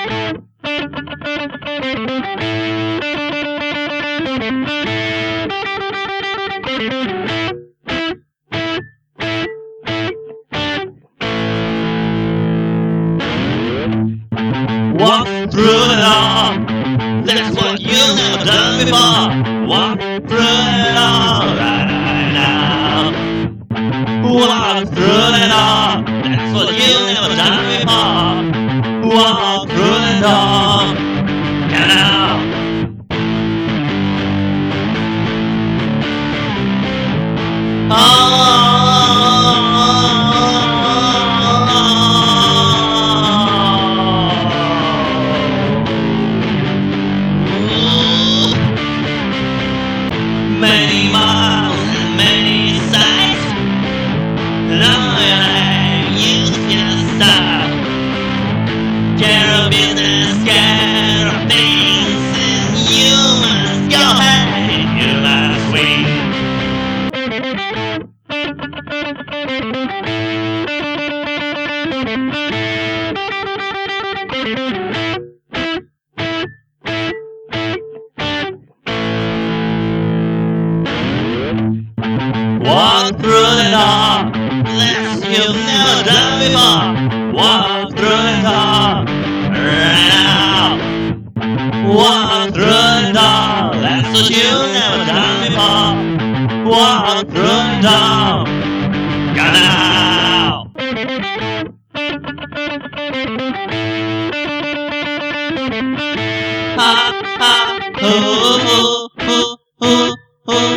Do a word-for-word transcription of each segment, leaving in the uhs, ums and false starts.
Walk through it all. That's what you've never done before. Walk through it all right now. Walk through it all. That's what you've never done before. Walk through it all. Get out. Oh. Many miles and many sights. Long I used to stop. Care of business, care of things, and you must go ahead, you must win. Walk through the door, that's you've never done before. Walk through the door, right now. Walk through the door, that's what you've never done before. Walk through the door, go now. Ha ha, ooh, ooh, ooh, ooh, ooh.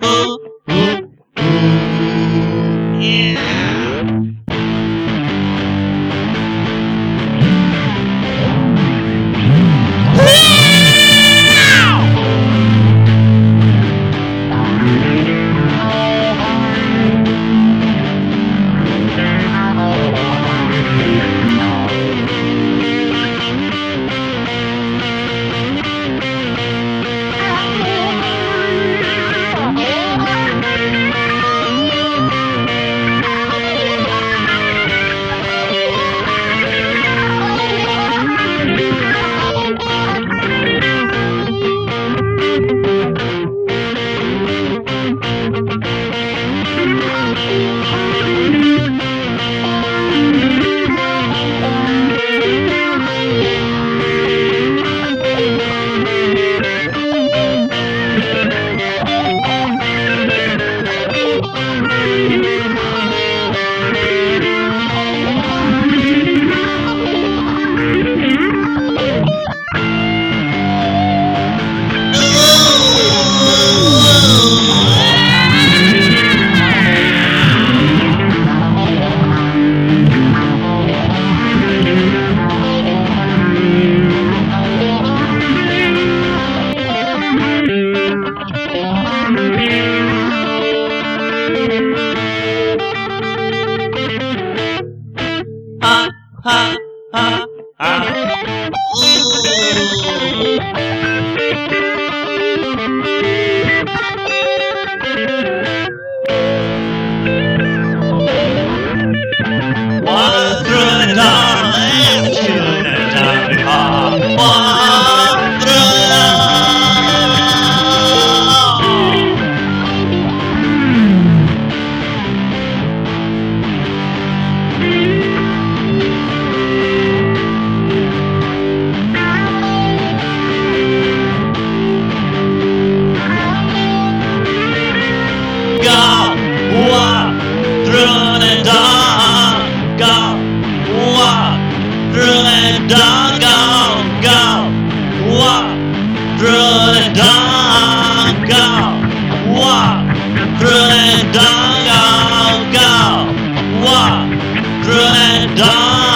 Ha ha ha ha. Walk through the door, let's shoot the door before. Walk through the door. Don't go, go, walk through the door, go, walk through the door, go, go, walk through the door.